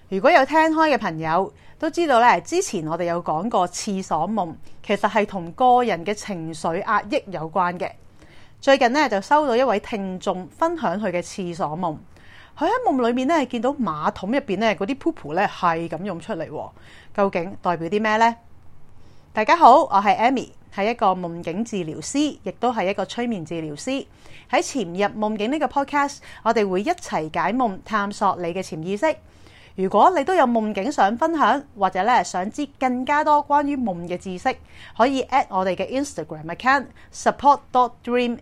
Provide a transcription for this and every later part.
如果有聽開嘅朋友都知道咧，之前我哋有講過廁所夢，其實係同個人嘅情緒壓抑有關嘅。最近咧就收到一位聽眾分享佢嘅廁所夢，佢喺夢裏面咧見到馬桶入邊咧嗰啲 poop 咧係咁湧出嚟，究竟代表啲咩呢？大家好，我係 Amy， 係一個夢境治療師，亦都係一個催眠治療師。喺潛入夢境呢個 podcast， 我哋會一齊解夢，探索你嘅潛意識。如果你都有夢境想分享，或者咧想知更加多關於夢嘅知識，可以 at 我哋嘅 Instagram account support.dream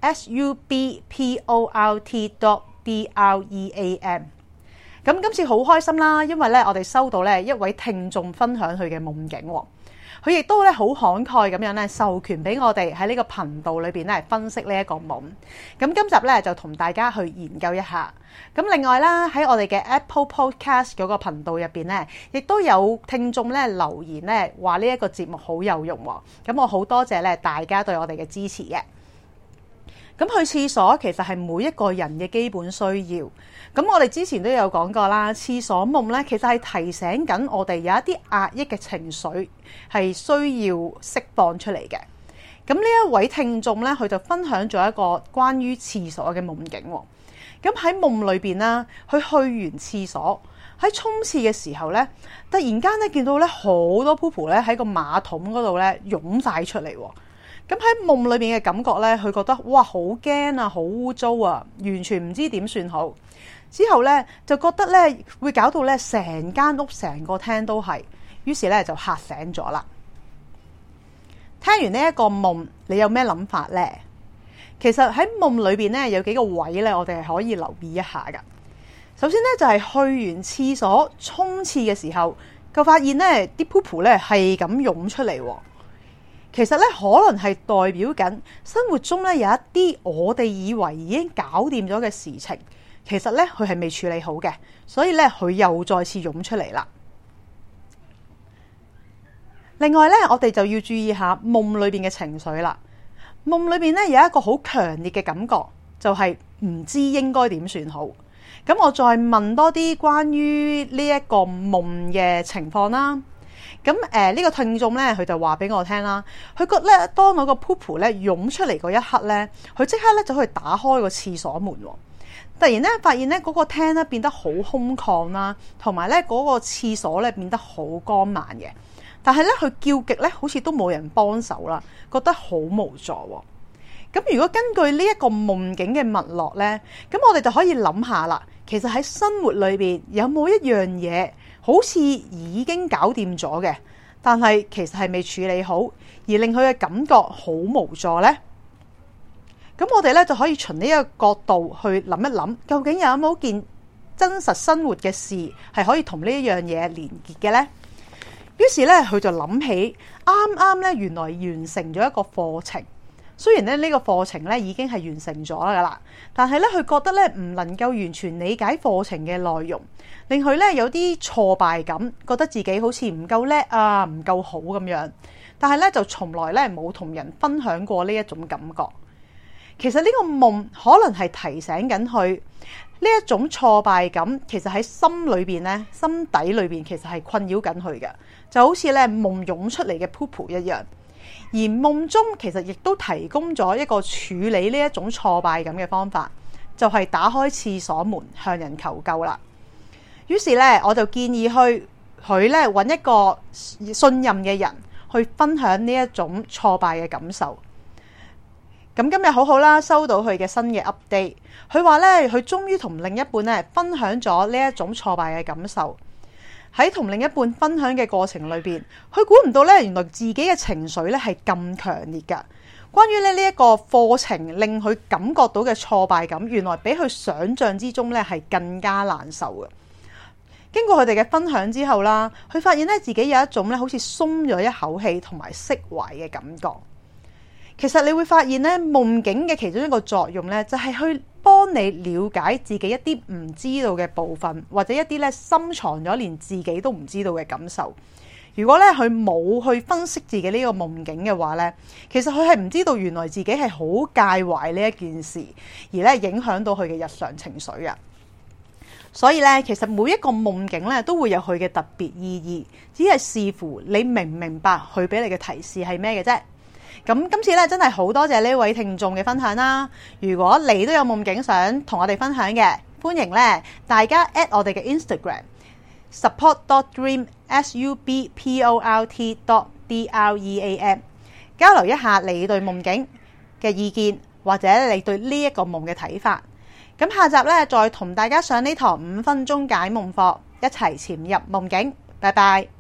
support.dream。咁今次好開心啦，因為咧我哋收到咧一位聽眾分享佢嘅夢境，佢亦都咧好慷慨咁樣咧授權俾我哋喺呢個頻道裏邊咧分析呢一個夢。咁今集咧就同大家去研究一下。咁另外啦，喺我哋嘅 Apple Podcast 嗰個頻道入邊咧，亦都有聽眾咧留言咧話呢一個節目好有用。咁我好多謝咧大家對我哋嘅支持嘅。咁去廁所其實係每一個人嘅基本需要。咁我哋之前都有講過啦，廁所夢咧其實係提醒緊我哋有一啲壓抑嘅情緒係需要釋放出嚟嘅。咁呢一位聽眾咧，佢就分享咗一個關於廁所嘅夢境。咁喺夢裏邊啦，佢去完廁所喺沖廁嘅時候咧，突然間咧見到咧好多 poop 咧喺個馬桶嗰度咧湧晒出嚟。咁喺夢裏面嘅感覺咧，佢覺得哇好驚啊，好污糟啊，完全唔知點算好。之後咧就覺得咧會搞到咧成間屋成個廳都係，於是咧就嚇醒咗啦。聽完呢一個夢，你有咩諗法呢？其實喺夢裏邊咧有幾個位咧，我哋係可以留意一下噶。首先咧就係去完廁所沖廁嘅時候，就發現咧啲 poop 咧係咁湧出嚟。其實咧可能係代表緊生活中咧有一啲我哋以為已經搞掂咗嘅事情，其實咧佢係未處理好嘅，所以咧佢又再次湧出嚟啦。另外咧，我哋就要注意下夢裏邊嘅情緒啦。夢裏邊咧有一個好強烈嘅感覺，就係唔知應該點算好。咁我再問多啲關於呢一個夢嘅情況啦。咁呢個聽眾咧，佢就話俾我聽啦。佢覺得咧，當我個 poop 咧湧出嚟嗰一刻咧，佢即刻咧就去打開個廁所門。突然咧發現咧嗰個廳咧變得好空曠啦，同埋咧嗰個廁所咧變得好光猛嘅。但係咧佢叫極咧，好似都冇人幫手啦，覺得好無助。咁如果根據呢一個夢境嘅脈絡咧，咁我哋就可以諗下啦。其實喺生活裏邊有冇一樣嘢好似已經搞掂咗嘅，但係其實係未處理好，而令佢嘅感覺好無助呢？咁我哋咧就可以從呢一個角度去諗一諗，究竟有冇件真實生活嘅事係可以同呢一樣嘢連結嘅呢？於是咧佢就諗起啱啱咧原來完成咗一個課程。雖然咧呢個課程咧已經係完成咗噶啦，但係咧佢覺得咧唔能夠完全理解課程嘅內容，令佢咧有啲挫敗感，覺得自己好似唔夠叻啊，唔夠好咁樣。但係咧就從來咧冇同人分享過呢一種感覺。其實呢個夢可能係提醒緊佢呢一種挫敗感，其實喺心裏邊咧、心底裏邊其實係困擾緊佢嘅，就好似咧夢湧出嚟嘅 poop 一樣。而夢中其實亦都提供咗一個處理呢一種挫敗感嘅方法，就係打開廁所門向人求救啦。於是咧，我就建議佢咧揾一個信任嘅人去分享呢一種挫敗嘅感受。咁今日好好啦，收到佢嘅新嘅 update， 佢話咧佢終於同另一半咧分享咗呢一種挫敗嘅感受。喺同另一半分享嘅過程裏邊，佢估唔到咧，原來自己嘅情緒咧係咁強烈噶。關於呢一個課程令佢感覺到嘅挫敗感，原來比佢想象之中咧係更加難受嘅。經過佢哋嘅分享之後啦，佢發現咧自己有一種咧好似鬆咗一口氣同埋釋懷嘅感覺。其實你會發現咧，夢境嘅其中一個作用咧，就係去幫你了解自己一啲唔知道嘅部分，或者一啲咧深藏咗連自己都唔知道嘅感受。如果咧佢冇去分析自己呢個夢境嘅話咧，其實佢係唔知道原來自己係好介懷呢一件事，而咧影響到佢嘅日常情緒啊。 所以咧，其實每一個夢境咧都會有佢嘅特別意義，只係視乎你明唔明白佢俾你嘅提示係咩嘅啫。咁今次咧真係好多謝呢位聽眾嘅分享啦！如果你都有夢境想同我哋分享嘅，歡迎咧大家 at 我哋嘅 Instagram support.dream support.dream 交流一下你對夢境嘅意見，或者你對呢一個夢嘅睇法。咁下集咧再同大家上呢堂5分鐘解夢課，一齊潛入夢境。拜拜。